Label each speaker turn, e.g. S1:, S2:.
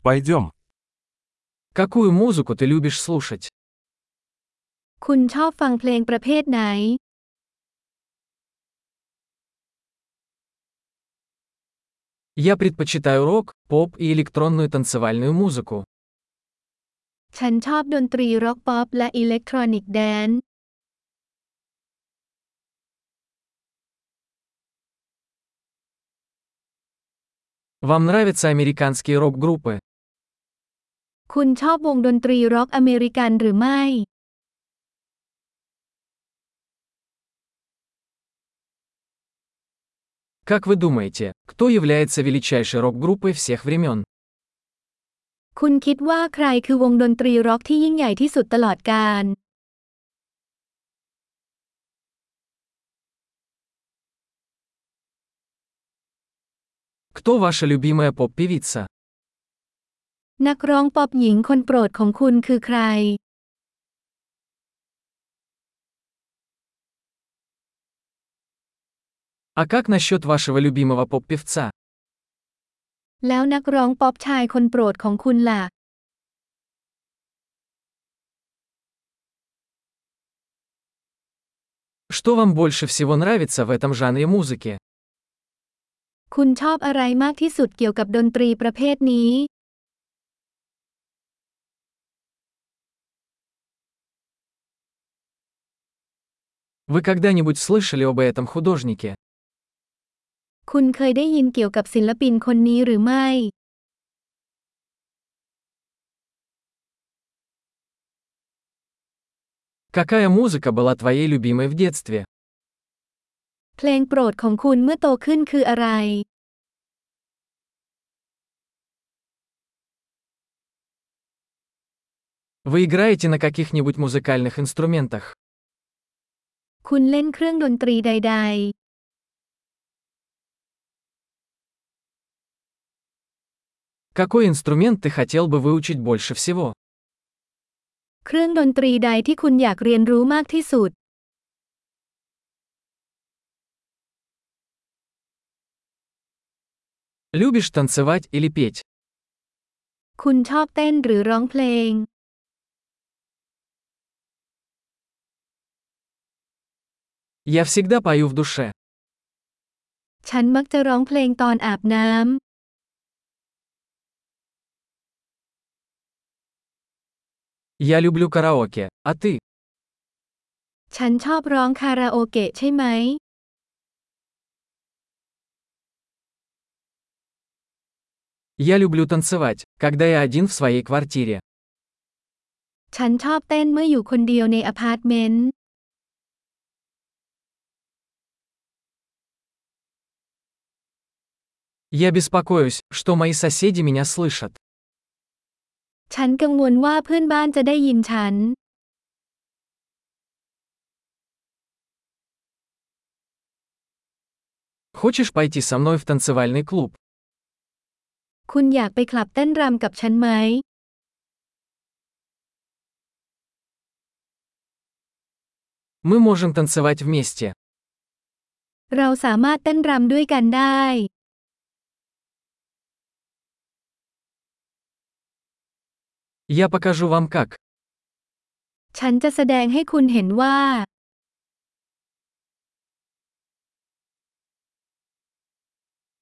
S1: Пойдем.
S2: Какую музыку ты любишь слушать?
S3: คุณชอบฟังเพลงประเภทไหน
S2: Я предпочитаю рок, поп и электронную танцевальную музыку.
S3: ฉันชอบดนตรีร็อกป๊อปและอิเล็กทรอนิกส์แดนซ์
S2: Вам нравятся американские рок-группы?
S3: คุณชอบวงดนตรีร็อกอเมริกันหรือไม่
S2: Как вы думаете, кто является величайшей рок-группой всех времен?
S3: คุณคิดว่าใครคือวงดนตรีร็อกที่ยิ่งใหญ่ที่สุดตลอดกาล
S2: Кто ваша любимая поп-певица?
S3: นักร้องป๊อปหญิงคนโปรดของคุณคือใคร
S2: А как насчет вашего любимого поп-певца?
S3: แล้วนักร้องป๊อปชายคนโปรดของคุณล่ะ
S2: Что вам больше всего нравится в этом жанре музыки?
S3: คุณชอบอะไรมากที่สุดเกี่ยวกับดนตรีประเภทนี้
S2: Вы когда-нибудь слышали об этом художнике?
S3: คุณเคยได้ยินเกี่ยวกับศิลปินคนนี้หรือไม่
S2: Какая музыка была твоей любимой в детстве?
S3: เพลงโปรดของคุณเมื่อโตขึ้นคืออะไร
S2: Вы играете на каких-нибудь музыкальных инструментах?
S3: คุณเล่นเครื่องดนตรีใด
S2: Какой инструмент ты хотел бы выучить больше всего?
S3: ๆ เครื่องดนตรีใดที่คุณอยากเรียนรู้มากที่สุด
S2: Любишь танцевать или петь?
S3: คุณชอบเต้นหรือร้องเพลง
S2: Я всегда пою в душе.
S3: ฉันมักจะร้องเพลงตอนอาบน้ำ
S2: Я люблю караоке, а ты?
S3: ฉันชอบร้องคาราโอเกะใช่ไหม
S2: Я люблю танцевать, когда я один в своей квартире.
S3: ฉันชอบเต้นเมื่ออยู่คนเดียวในอพาร์ตเมนต์
S2: Я беспокоюсь, что мои соседи меня слышат.
S3: ฉันกังวลว่าเพื่อนบ้านจะได้ยินฉัน
S2: Хочешь пойти со мной в танцевальный клуб?
S3: คุณอยากไปคลับเต้นรำกับฉันไหม
S2: Мы можем танцевать вместе.
S3: เราสามารถเต้นรำด้วยกันได้
S2: Я покажу вам как.
S3: ฉันจะแสดงให้คุณเห็นว่า